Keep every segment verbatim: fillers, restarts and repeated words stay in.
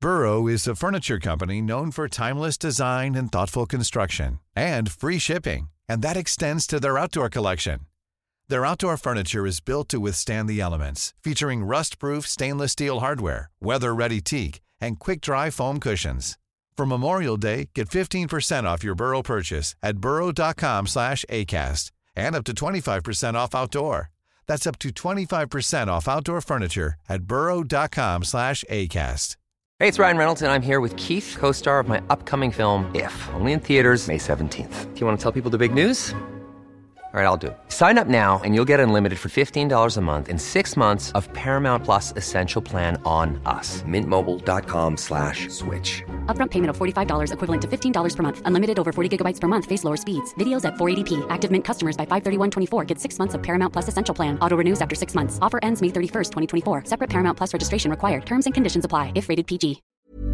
Burrow is a furniture company known for timeless design and thoughtful construction, and free shipping, and that extends to their outdoor collection. Their outdoor furniture is built to withstand the elements, featuring rust-proof stainless steel hardware, weather-ready teak, and quick-dry foam cushions. For Memorial Day, get fifteen percent off your Burrow purchase at burrow.com slash ACAST and up to twenty-five percent off outdoor. That's up to twenty-five percent off outdoor furniture at burrow.com slash ACAST. Hey, it's Ryan Reynolds, and I'm here with Keith, co-star of my upcoming film, If, only in theaters May seventeenth. Do you want to tell people the big news? All right, I'll do it. Sign up now and you'll get unlimited for fifteen dollars a month and six months of Paramount Plus Essential Plan on us. Mint Mobile dot com slash switch. Upfront payment of forty-five dollars equivalent to fifteen dollars per month. Unlimited over forty gigabytes per month. Face lower speeds. Videos at four eighty p. Active Mint customers by five thirty-one twenty-four get six months of Paramount Plus Essential Plan. Auto renews after six months. Offer ends May thirty-first, twenty twenty-four. Separate Paramount Plus registration required. Terms and conditions apply if rated بي جي.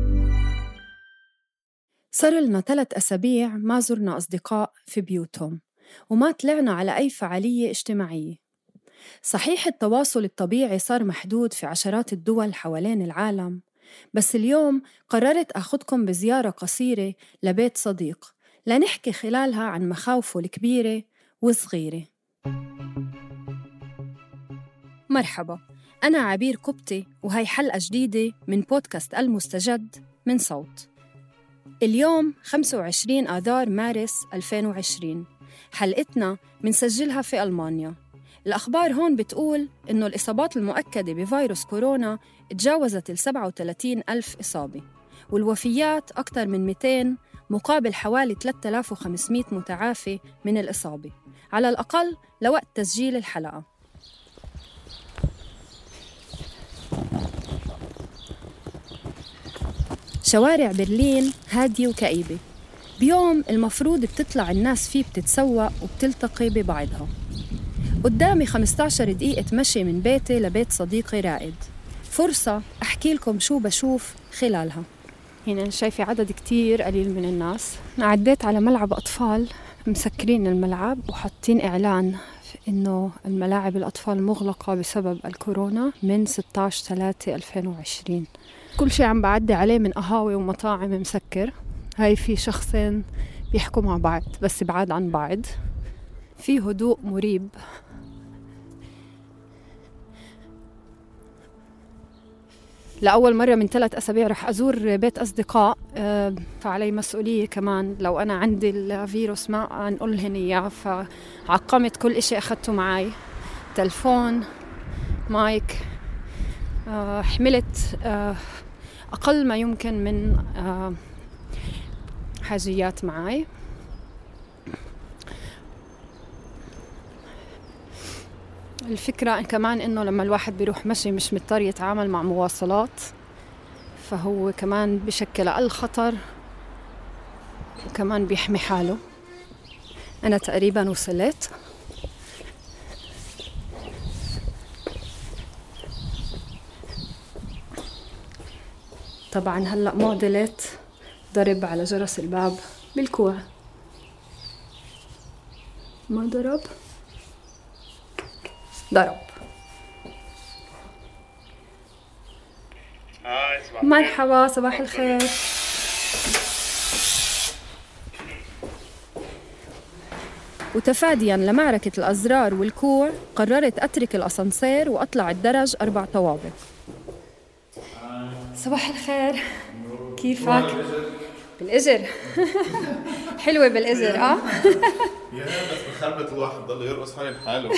صار لنا ثلاث أسابيع ما زرنا أصدقاء في بيوتهم وما طلعنا على أي فعالية اجتماعية. صحيح التواصل الطبيعي صار محدود في عشرات الدول حوالين العالم، بس اليوم قررت أخذكم بزيارة قصيرة لبيت صديق لنحكي خلالها عن مخاوفه الكبيرة والصغيرة. مرحبا، أنا عبير قبطي وهي حلقة جديدة من بودكاست المستجد من صوت. اليوم خمسة وعشرين آذار مارس ألفين وعشرين. حلقتنا منسجلها في ألمانيا. الأخبار هون بتقول إنه الإصابات المؤكدة بفيروس كورونا تجاوزت السبعة وثلاثين ألف إصابة، والوفيات أكثر من مئتين مقابل حوالي ثلاثة آلاف وخمسمئة متعافي من الإصابة، على الأقل لوقت تسجيل الحلقة. شوارع برلين هادية وكئيبة بيوم المفروض بتطلع الناس فيه بتتسوق وبتلتقي ببعضها. قدامي خمسة عشر دقيقة مشي من بيتي لبيت صديقي رائد، فرصة أحكي لكم شو بشوف خلالها. هنا شايفة عدد كتير قليل من الناس. عديت على ملعب أطفال مسكرين الملعب وحاطين إعلان إنه الملاعب الأطفال مغلقة بسبب الكورونا من ستة عشر ثلاثة ألفين وعشرين. كل شيء عم بعدي عليه من قهاوي ومطاعم مسكر. هاي في شخصين بيحكوا مع بعض بس بعاد عن بعض. في هدوء مريب. لأول مرة من ثلاث أسابيع رح أزور بيت أصدقاء، فعلي مسؤولية كمان لو أنا عندي الفيروس ما أنقلهن إياه، فعقمت كل إشي أخذته معي، تلفون، مايك، حملت أقل ما يمكن من حاجيات معي. الفكرة كمان إنه لما الواحد بيروح مشي مش مضطر يتعامل مع مواصلات، فهو كمان بشكل أقل خطر وكمان بيحمي حاله. أنا تقريبا وصلت. طبعا هلأ معضلة ضرب على جرس الباب بالكوع. ما ضرب؟ ضرب. مرحبا، صباح الخير. وتفادياً لمعركة الأزرار والكوع قررت أترك الأسانسير وأطلع الدرج أربع طوابق. صباح الخير، كيفك؟ بالإجر. حلوة بالإجر. آه يا بس بخربت الواحد ضل يرقص حالي بحاله.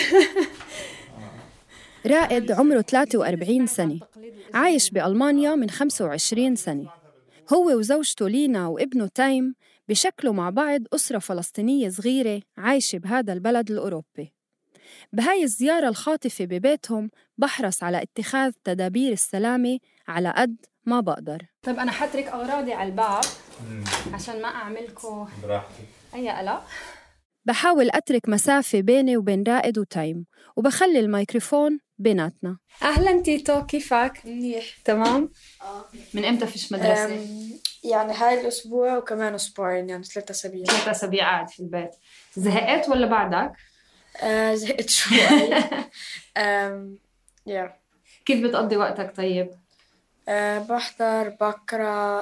رائد عمره ثلاثة وأربعين سنة، عايش بألمانيا من خمسة وعشرين سنة. هو وزوجته لينا وابنه تايم بشكلوا مع بعض أسرة فلسطينية صغيرة عايشة بهذا البلد الأوروبي. بهاي الزيارة الخاطفة ببيتهم بحرص على اتخاذ تدابير السلامة على قد ما بقدر. طب أنا حترك أغراضي على الباب عشان ما أعملكم براحتي أي قلق. بحاول أترك مسافة بيني وبين رائد وتايم وبخلي الميكروفون بيناتنا. أهلاً تيتو، كيفك؟ منيح. تمام؟ آه. من إمتى فيش مدرسة؟ يعني هاي الأسبوع وكمان أسبوعين، يعني ثلاثة أسابيع. ثلاثة أسابيع قاعد في البيت. زهقت ولا بعدك؟ آه زهقت شوي. أم... yeah. كيف بتقضي وقتك طيب؟ أه بحضر، بقرأ،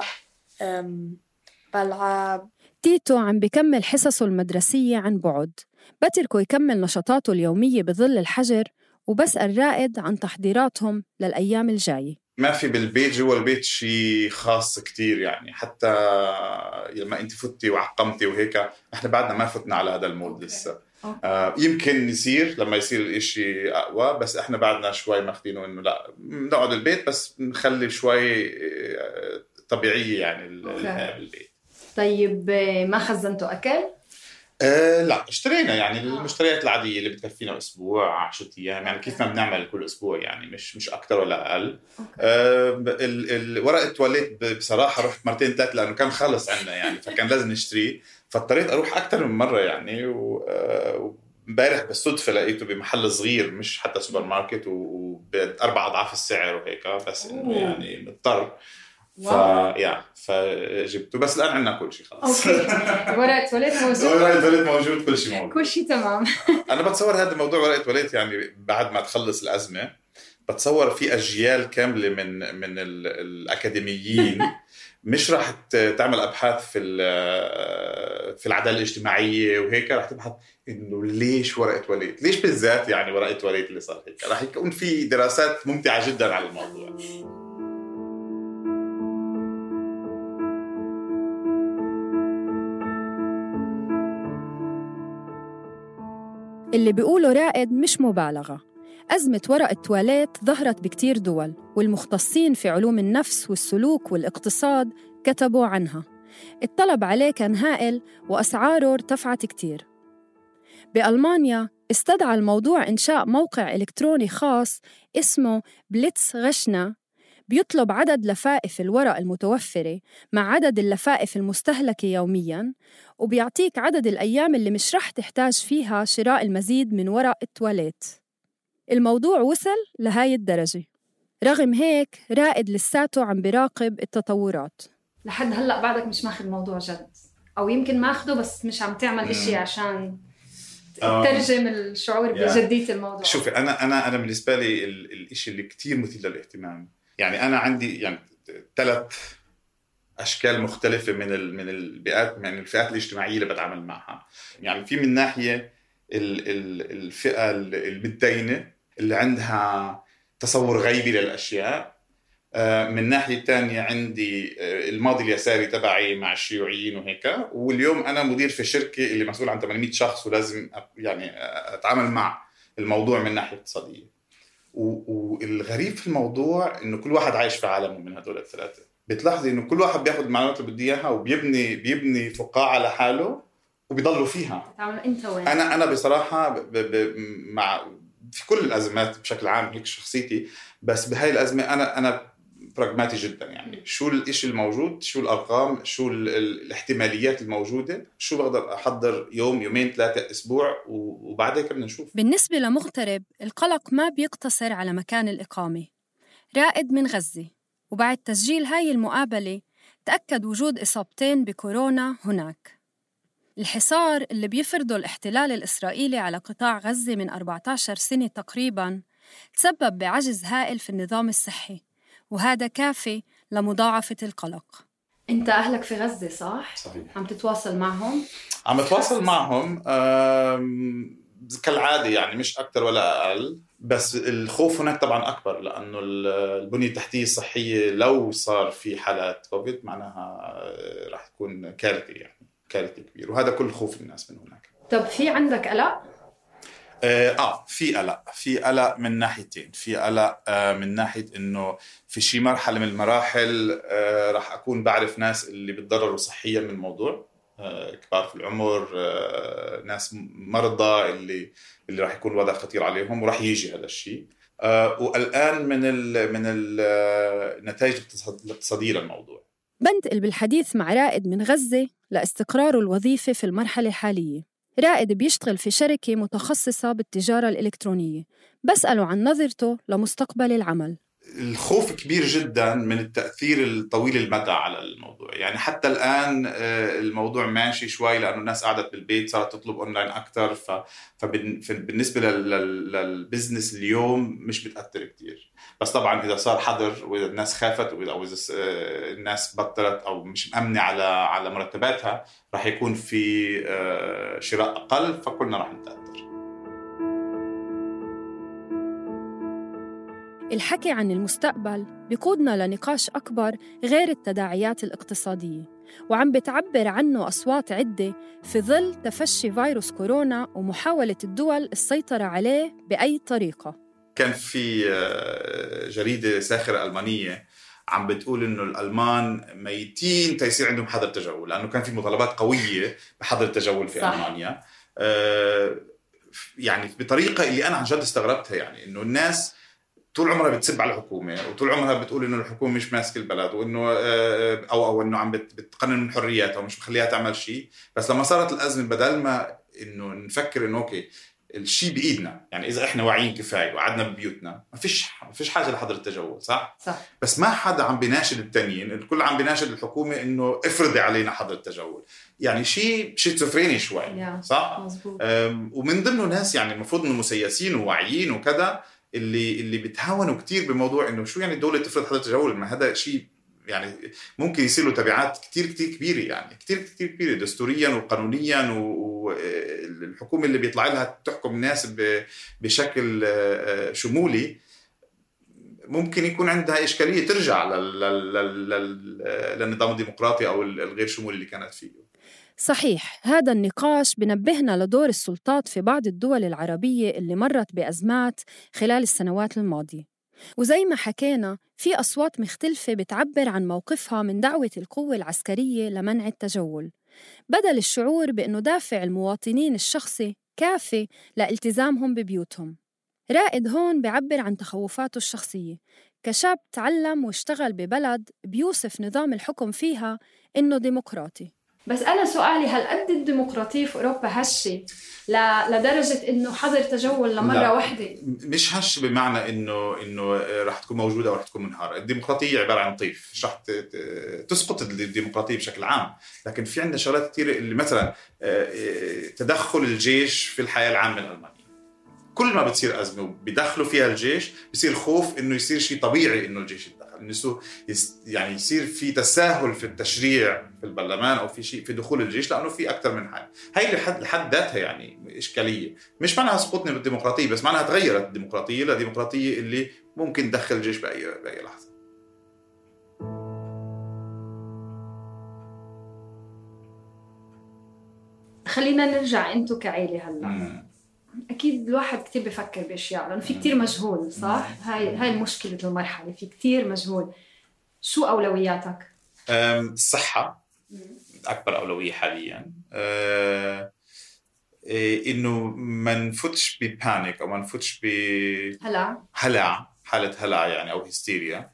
بلعب. تيتو عم بكمل حصصه المدرسية عن بعد، بتركه يكمل نشاطاته اليومية بظل الحجر، وبسأل رائد عن تحضيراتهم للأيام الجاية. ما في بالبيت جوا البيت شيء خاص كتير يعني، حتى لما انت فتي وعقمتي وهيك احنا بعدنا ما فتنا على هذا المود لسه. آه يمكن يصير لما يصير الاشي اقوى، بس احنا بعدنا شوي ماخدينه انه لا نقعد البيت بس نخلي شوي طبيعية يعني الحياة بالبيت. طيب ما خزنتوا أكل؟ أه لا اشترينا يعني المشتريات العادية اللي بتكفينا أسبوع عشرة أيام يعني كيف ما بنعمل كل أسبوع يعني مش مش أكتر ولا أقل. أه الورق التواليت بصراحة رحت مرتين ثلاثة لأنه كان خلص عنا يعني فكان لازم نشتريه، فاضطريت أروح أكتر من مرة يعني. ومبارح بالصدفة لقيته بمحل صغير مش حتى سوبر ماركت وبأربع أضعاف السعر وهيك، بس إنه يعني مضطر فيا فجبته، بس الآن عندنا كل شيء خلاص. أوكي. ورقة تواليت موجود. ورقة تواليت موجود، كل شيء موجود. كل شيء تمام. أنا بتصور هذا الموضوع ورقة تواليت يعني بعد ما تخلص الأزمة بتصور في أجيال كاملة من من الأكاديميين مش راح تعمل أبحاث في في العدالة الاجتماعية وهيك، راح تبحث إنه ليش ورقة تواليت، ليش بالذات يعني ورقة تواليت اللي صار هيك. راح يكون في دراسات ممتعة جدا على الموضوع. اللي بيقوله رائد مش مبالغة. أزمة ورق التواليت ظهرت بكتير دول، والمختصين في علوم النفس والسلوك والاقتصاد كتبوا عنها. الطلب عليه كان هائل وأسعاره ارتفعت كتير. بألمانيا استدعى الموضوع إنشاء موقع إلكتروني خاص اسمه بليتس غشنا، بيطلب عدد لفائف الورق المتوفرة مع عدد اللفائف المستهلكة يومياً، وبيعطيك عدد الأيام اللي مش رح تحتاج فيها شراء المزيد من ورق التواليت. الموضوع وصل لهاي الدرجة. رغم هيك رائد لساته عم بيراقب التطورات. لحد هلأ بعدك مش ماخذ الموضوع جد، أو يمكن ماخده بس مش عم تعمل إشي عشان ترجم الشعور بجدية الموضوع. شوفي أنا أنا أنا بالنسبة لي الإشي اللي كتير مثير للاهتمام يعني أنا عندي يعني ثلاث أشكال مختلفة من ال من البيئات من الفئات الاجتماعية اللي بتعامل معها. يعني في من ناحية ال ال الفئة المتدينة اللي عندها تصور غيبي للأشياء، من ناحية تانية عندي الماضي اليساري تبعي مع الشيوعيين وهيك، واليوم أنا مدير في شركة اللي مسؤول عن ثمانمئة شخص ولازم يعني أتعامل مع الموضوع من ناحية اقتصادية. والغريب في الموضوع إنه كل واحد عايش في عالمه من هدول الثلاثة. بتلاحظي إنه كل واحد بياخد المعلومات اللي بدي إياها وبيبني بيبني فقاعة لحاله وبيضلوا فيها. تعمل أنت وين؟ أنا أنا بصراحة ب ب مع في كل الأزمات بشكل عام هيك شخصيتي، بس بهاي الأزمة أنا أنا براغماتي جدا يعني شو الإشي الموجود، شو الأرقام، شو الاحتماليات الموجودة، شو بقدر أحضر يوم يومين ثلاثة أسبوع وبعدها كنا نشوف. بالنسبة لمغترب القلق ما بيقتصر على مكان الإقامة. رائد من غزة، وبعد تسجيل هاي المقابلة تأكد وجود إصابتين بكورونا هناك. الحصار اللي بيفرضه الاحتلال الإسرائيلي على قطاع غزة من أربعة عشر سنة تقريباً تسبب بعجز هائل في النظام الصحي، وهذا كافي لمضاعفة القلق. أنت أهلك في غزة صح؟ صحيح. عم تتواصل معهم؟ عم تتواصل معهم كالعادة يعني مش أكتر ولا أقل، بس الخوف هناك طبعاً أكبر لأنه البنية التحتية الصحية لو صار في حالات كوفيد معناها راح تكون كارثة يعني كارثة كبيرة، وهذا كل خوف الناس من هناك. طب في عندك قلق؟ آه في قلق في قلق من ناحيتين. في قلق آه من ناحية إنه في شي مرحلة من المراحل آه راح أكون بعرف ناس اللي بتضرروا صحيا من الموضوع، آه كبار في العمر، آه ناس مرضى اللي اللي راح يكون الوضع خطير عليهم وراح يجي هذا الشيء. آه والآن من ال من النتائج الاقتصادية للموضوع. بنتقل بالحديث مع رائد من غزة لاستقراره الوظيفي في المرحلة الحالية. رائد بيشتغل في شركة متخصصة بالتجارة الإلكترونية. بسأله عن نظرته لمستقبل العمل. الخوف كبير جدا من التأثير الطويل المدى على الموضوع. يعني حتى الآن الموضوع ماشي شوي لأنه الناس قعدت بالبيت صارت تطلب أونلاين أكتر، فبالنسبة للبزنس اليوم مش بتأثر كتير. بس طبعا إذا صار حظر وإذا الناس خافت أو إذا الناس بطلت أو مش مأمنة على على مرتباتها راح يكون في شراء أقل، فكلنا راح نتأثر. الحكي عن المستقبل بيقودنا لنقاش أكبر غير التداعيات الاقتصادية، وعم بتعبر عنه أصوات عدة في ظل تفشي فيروس كورونا ومحاولة الدول السيطرة عليه بأي طريقة. كان في جريدة ساخرة ألمانية عم بتقول إنه الألمان ميتين تيصير عندهم حظر تجول، لأنه كان في مطالبات قوية بحظر التجول في صح. ألمانيا. يعني بطريقة اللي أنا عن جد استغربتها، يعني إنه الناس طول عمرها بتسب على الحكومة وطول عمرها بتقول إنه الحكومة مش ماسك البلد وإنه أو أو إنه عم بتقنن من حرياتها ومش مخليها تعمل شيء. بس لما صارت الأزمة بدل ما إنه نفكر إنه أوكي الشيء بإيدنا، يعني إذا إحنا واعيين كفاية وقعدنا ببيوتنا ما فيش ما فيش حاجة لحظر التجول، صح؟ صح. بس ما حدا عم بيناشد التانيين، الكل عم بيناشد الحكومة إنه افرضي علينا حظر التجول. يعني شيء شيزوفريني شوي، صح؟ مزبوط. ومن ضمنه ناس يعني المفروض إنه مسيسين وواعيين وكذا اللي اللي بتهاونوا كتير بموضوع إنه شو يعني الدولة تفرض حظر التجول. ما هذا شيء يعني ممكن يصير له تبعات كتير كتير كبيرة، يعني كتير كتير كبيرة دستوريا وقانونيا، والحكومة اللي بيطلع لها تحكم الناس بشكل شمولي ممكن يكون عندها إشكالية ترجع للنظام الديمقراطي أو الغير شمولي اللي كانت فيه. صحيح، هذا النقاش بنبهنا لدور السلطات في بعض الدول العربية اللي مرت بأزمات خلال السنوات الماضية، وزي ما حكينا في أصوات مختلفة بتعبر عن موقفها من دعوة القوة العسكرية لمنع التجول، بدل الشعور بأنه دافع المواطنين الشخصي كافي لالتزامهم ببيوتهم. رائد هون بعبر عن تخوفاته الشخصية كشاب تعلم واشتغل ببلد بيوصف نظام الحكم فيها إنه ديمقراطي. بس أنا سؤالي، هل قد الديمقراطية في أوروبا هشة لدرجة إنه حظر تجول لمرة لا. واحدة؟ مش هش بمعنى إنه إنه راح تكون موجودة أو راح تكون منهارة. الديمقراطية عبارة عن طيف، مش راح تسقط الديمقراطية بشكل عام، لكن في عندنا شغلات كتير اللي مثلا تدخل الجيش في الحياة العامة الألمانية. كل ما بتصير أزمة وبيدخلوا فيها الجيش بيصير خوف إنه يصير شيء طبيعي إنه الجيش يتدخل، إنه يعني يصير في تساهل في التشريع في البرلمان أو في شيء في دخول الجيش، لأنه في أكثر من حال. هاي لحد لحد ذاتها يعني إشكالية، مش معناها سقوطنا بالديمقراطية، بس معناها تغيرت الديمقراطية لديمقراطية اللي ممكن تدخل الجيش بأي بأي لحظة. خلينا نرجع أنتوا كعائلة هلا. مم. أكيد الواحد كتير بيفكر بأشياء لأنه في كتير مجهول، صح؟ هاي هاي المشكلة المرحلة، في كتير مجهول. شو أولوياتك؟ الصحة أكبر أولوية حالياً. أه إنه ما نفوتش ببانيك أو ما نفوتش بهلع هلع حالة هلع يعني أو هستيريا.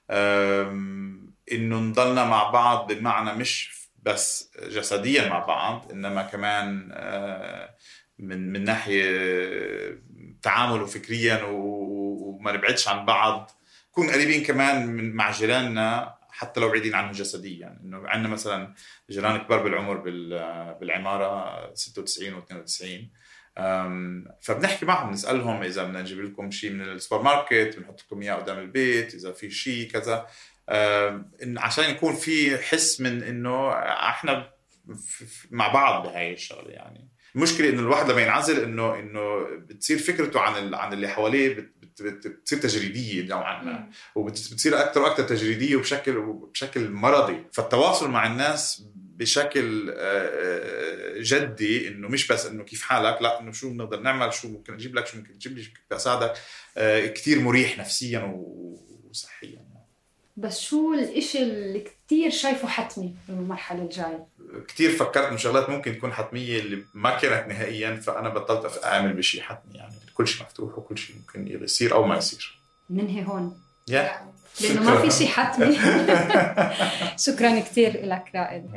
إنه نضلنا مع بعض بمعنى مش بس جسدياً مع بعض، إنما كمان أه من من ناحية تعامل وفكريا وما نبعدش عن بعض، نكون قريبين كمان من مع جيراننا حتى لو بعيدين عنه جسديا. يعني إنه عندنا مثلا جيران كبار بالعمر بالعمارة ستة وتسعين و اثنين وتسعين، فبنحكي معهم نسألهم إذا بدنا نجيب لكم شيء من السوبر ماركت بنحط لكم إياه قدام البيت، إذا في شيء كذا، عشان يكون في حس من إنه إحنا مع بعض بهاي الشغلة. يعني المشكلة إنه الواحد لما ينعزل إنه إنه بتصير فكرته عن عن اللي حواليه بتصير تجريدية نوعا ما، وبتصير أكتر وأكتر تجريدية وبشكل بشكل مرضي. فالتواصل مع الناس بشكل جدي إنه مش بس إنه كيف حالك، لا إنه شو بنقدر نعمل، شو ممكن أجيب لك، شو ممكن تجيب لي، شو ممكن أساعدك، كتير مريح نفسيا وصحيا. بس شو الإشي اللي كتير شايفه حتمي بالمرحلة الجاية؟ كتير فكرت إن شغلات ممكن تكون حتمية اللي ما كانت نهائياً، فأنا بطلت أعمل بشيء حتمي. يعني كل شيء مفتوح وكل شيء ممكن يصير أو ما يصير. ننهي هون yeah. لأنه ما في شيء حتمي. شكراً كتير لك رائد.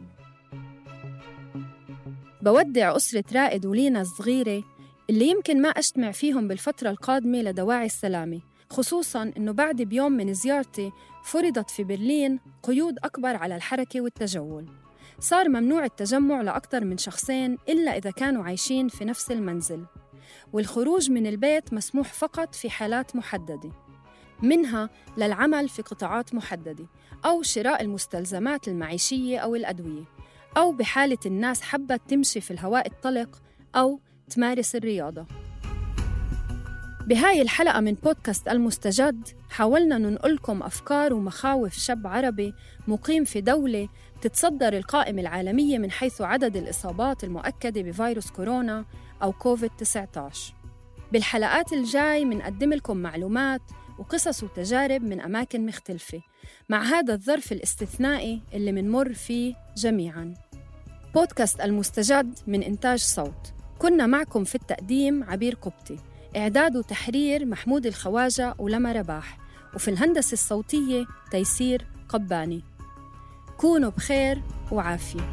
بودع أسرة رائد ولينا الصغيرة اللي يمكن ما أجتمع فيهم بالفترة القادمة لدواعي السلامة، خصوصاً إنه بعد بيوم من زيارتي فرضت في برلين قيود أكبر على الحركة والتجول. صار ممنوع التجمع لأكثر من شخصين إلا إذا كانوا عايشين في نفس المنزل، والخروج من البيت مسموح فقط في حالات محددة، منها للعمل في قطاعات محددة أو شراء المستلزمات المعيشية أو الأدوية، أو بحالة الناس حبت تمشي في الهواء الطلق أو تمارس الرياضة. بهاي الحلقة من بودكاست المستجد حاولنا ننقلكم أفكار ومخاوف شاب عربي مقيم في دولة تتصدر القائمة العالمية من حيث عدد الإصابات المؤكدة بفيروس كورونا أو كوفيد تسعة عشر. بالحلقات الجاي منقدم لكم معلومات وقصص وتجارب من أماكن مختلفة مع هذا الظرف الاستثنائي اللي منمر فيه جميعاً. بودكاست المستجد من إنتاج صوت. كنا معكم في التقديم عبير قبطي، إعداد وتحرير محمود الخواجة ولما رباح، وفي الهندسة الصوتية تيسير قباني. كونوا بخير وعافية.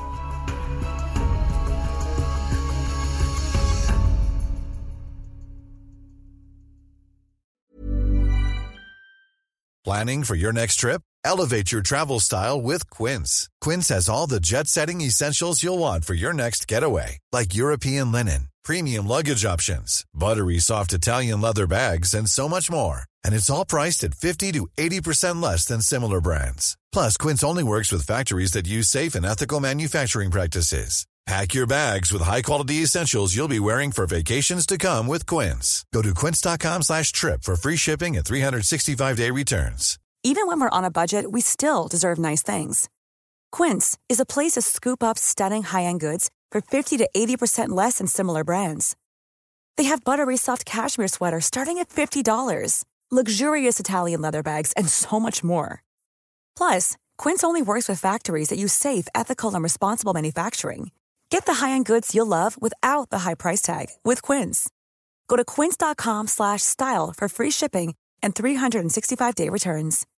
Planning for your next trip? Elevate your travel style with Quince. Quince has all the jet-setting essentials you'll want for your next getaway, like European linen, premium luggage options, buttery soft Italian leather bags, and so much more. And it's all priced at fifty to eighty percent less than similar brands. Plus, Quince only works with factories that use safe and ethical manufacturing practices. Pack your bags with high-quality essentials you'll be wearing for vacations to come with Quince. Go to quince.com slash trip for free shipping and three sixty-five day returns. Even when we're on a budget, we still deserve nice things. Quince is a place to scoop up stunning high-end goods for fifty to eighty percent less than similar brands. They have buttery soft cashmere sweaters starting at fifty dollars, luxurious Italian leather bags, and so much more. Plus, Quince only works with factories that use safe, ethical, and responsible manufacturing. Get the high-end goods you'll love without the high price tag with Quince. Go to quince.com slash style for free shipping and three sixty-five day returns.